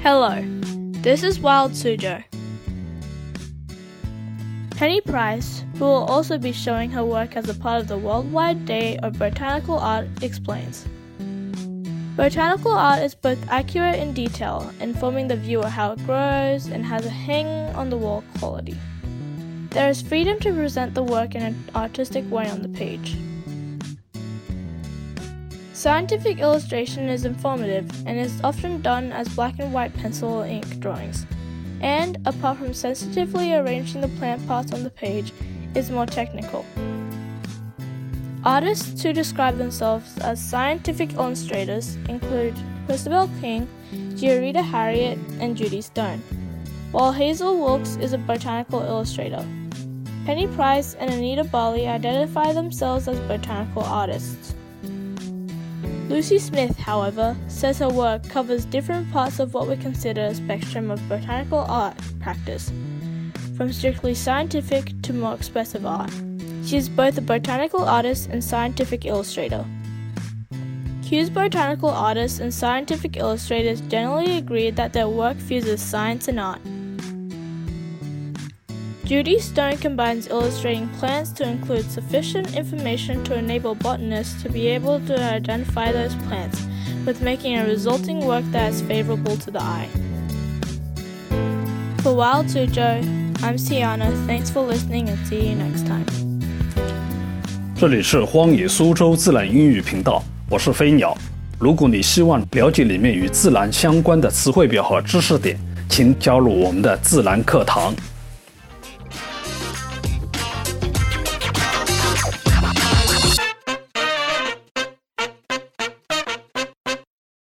Hello, this is Wild Suzhou. Penny Price, who will also be showing her work as a part of the Worldwide Day of Botanical Art, explains. Botanical art is both accurate in detail, informing the viewer how it grows, and has a hang-on-the-wall quality. There is freedom to present the work in an artistic way on the page. Scientific illustration is informative and is often done as black and white pencil or ink drawings, and, apart from sensitively arranging the plant parts on the page, is more technical. Artists who describe themselves as scientific illustrators include Christabel King, Giorita Harriet, and Judy Stone, while Hazel Wilkes is a botanical illustrator. Penny Price and Anita Barley identify themselves as botanical artists. Lucy Smith, however, says her work covers different parts of what we consider a spectrum of botanical art practice, from strictly scientific to more expressive art. She is both a botanical artist and scientific illustrator. Kews botanical artists and scientific illustrators generally agree that their work fuses science and art. Judy Stone combines illustrating plants to include sufficient information to enable botanists to be able to identify those plants, with making a resulting work that is favorable to the eye. For Wild Suzhou, I'm Sienna. Thanks for listening and see you next time. 这里是荒野苏州自然英语频道，我是飞鸟。如果你希望了解里面与自然相关的词汇表和知识点，请加入我们的自然课堂。